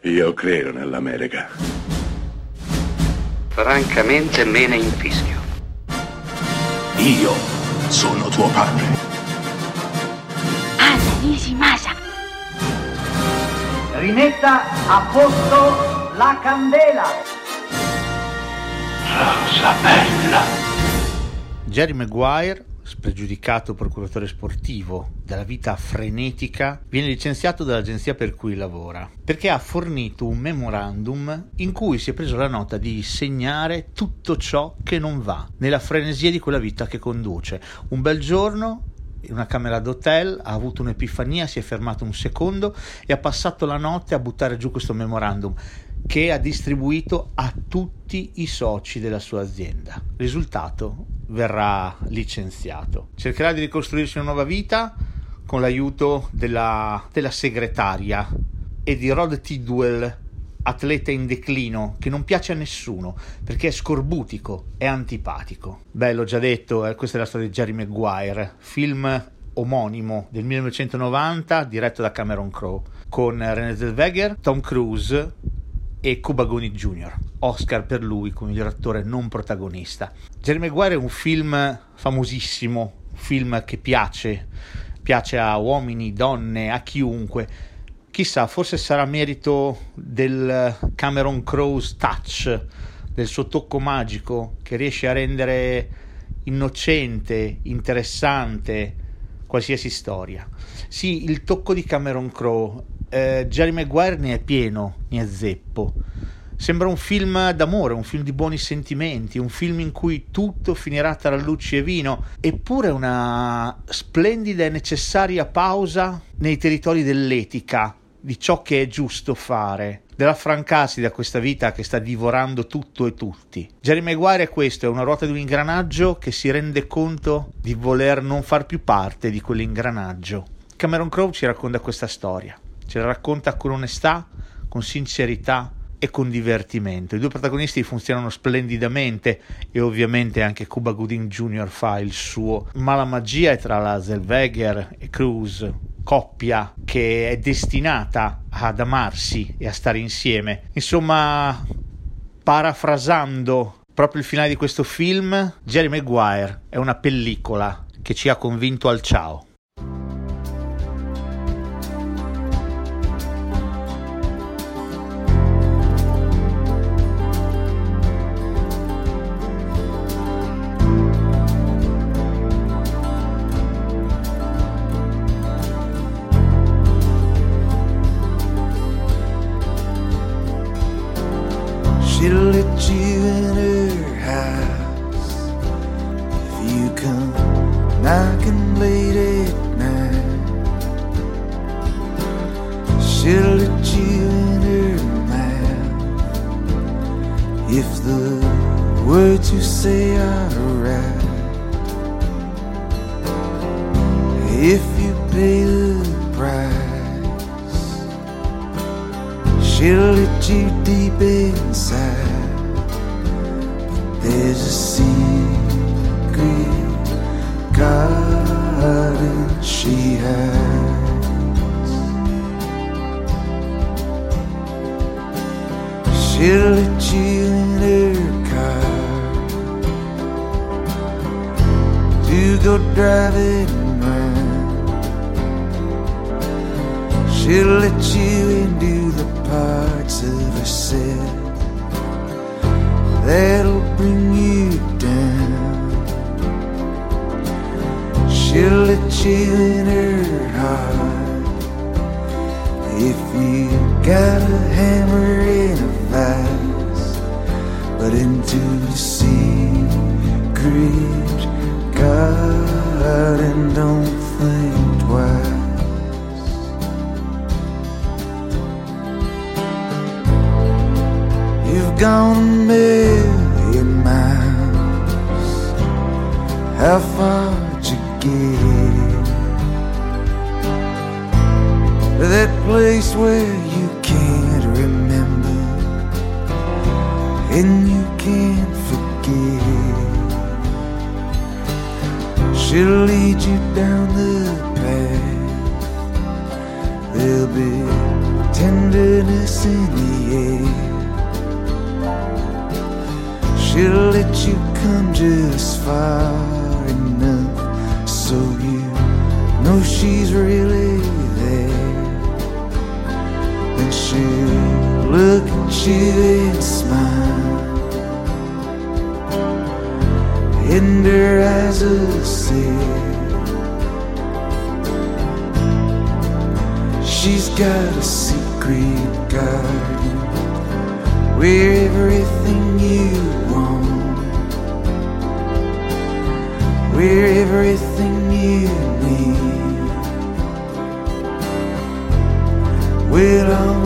Io credo nell'America. Francamente me ne infischio. Io sono tuo padre. Anna Nishimasa. Rimetta a posto la candela. Rosa bella. Jerry Maguire, spregiudicato procuratore sportivo dalla vita frenetica, viene licenziato dall'agenzia per cui lavora perché ha fornito un memorandum in cui si è preso la nota di segnare tutto ciò che non va nella frenesia di quella vita che conduce. Un bel giorno, in una camera d'hotel, ha avuto un'epifania, si è fermato un secondo e ha passato la notte a buttare giù questo memorandum che ha distribuito a tutti i soci della sua azienda. Risultato: verrà licenziato. Cercherà di ricostruirsi una nuova vita con l'aiuto della segretaria e di Rod Tidwell, atleta in declino che non piace a nessuno perché è scorbutico e antipatico. Beh, l'ho già detto, questa è la storia di Jerry Maguire, film omonimo del 1990 diretto da Cameron Crowe con Renée Zellweger, Tom Cruise e Cuba Gooding Jr. Oscar per lui come miglior attore non protagonista. Jerry Maguire è un film famosissimo, un film che piace a uomini, donne, a chiunque. Chissà, forse sarà merito del Cameron Crowe's touch, del suo tocco magico che riesce a rendere innocente, interessante qualsiasi storia. Sì, il tocco di Cameron Crowe. Jerry Maguire ne è pieno, ne è zeppo. Sembra un film d'amore, un film di buoni sentimenti, un film in cui tutto finirà tra lucci e vino, eppure una splendida e necessaria pausa nei territori dell'etica, di ciò che è giusto fare, dell'affrancarsi da questa vita che sta divorando tutto e tutti. Jerry Maguire è questo, è una ruota di un ingranaggio che si rende conto di voler non far più parte di quell'ingranaggio. Cameron Crowe ci racconta questa storia. Ce la racconta con onestà, con sincerità e con divertimento. I due protagonisti funzionano splendidamente e ovviamente anche Cuba Gooding Jr. fa il suo, ma la magia è tra la Zellweger e Cruise, coppia che è destinata ad amarsi e a stare insieme. Insomma, parafrasando proprio il finale di questo film, Jerry Maguire è una pellicola che ci ha convinto al ciao. She'll let you in her house if you come knocking late at night. She'll let you in her mouth if the words you say are right. If you pay the price, she'll let you deep inside. But there's a secret garden she hides. She'll let you in her car to go driving around. She'll let you into the parts of herself that'll bring you down. She'll let you in her heart if you got a hammer and a vice, but into the secret garden, don't think twice. You've gone a million miles. How far'd you get? That place where you can't remember and you can't forget. She'll lead you down the path. There'll be tenderness in she'll let you come just far enough so you know she's really there. And she'll look at you and smile, and her eyes will say she's got a secret garden where everything you want, where everything you need will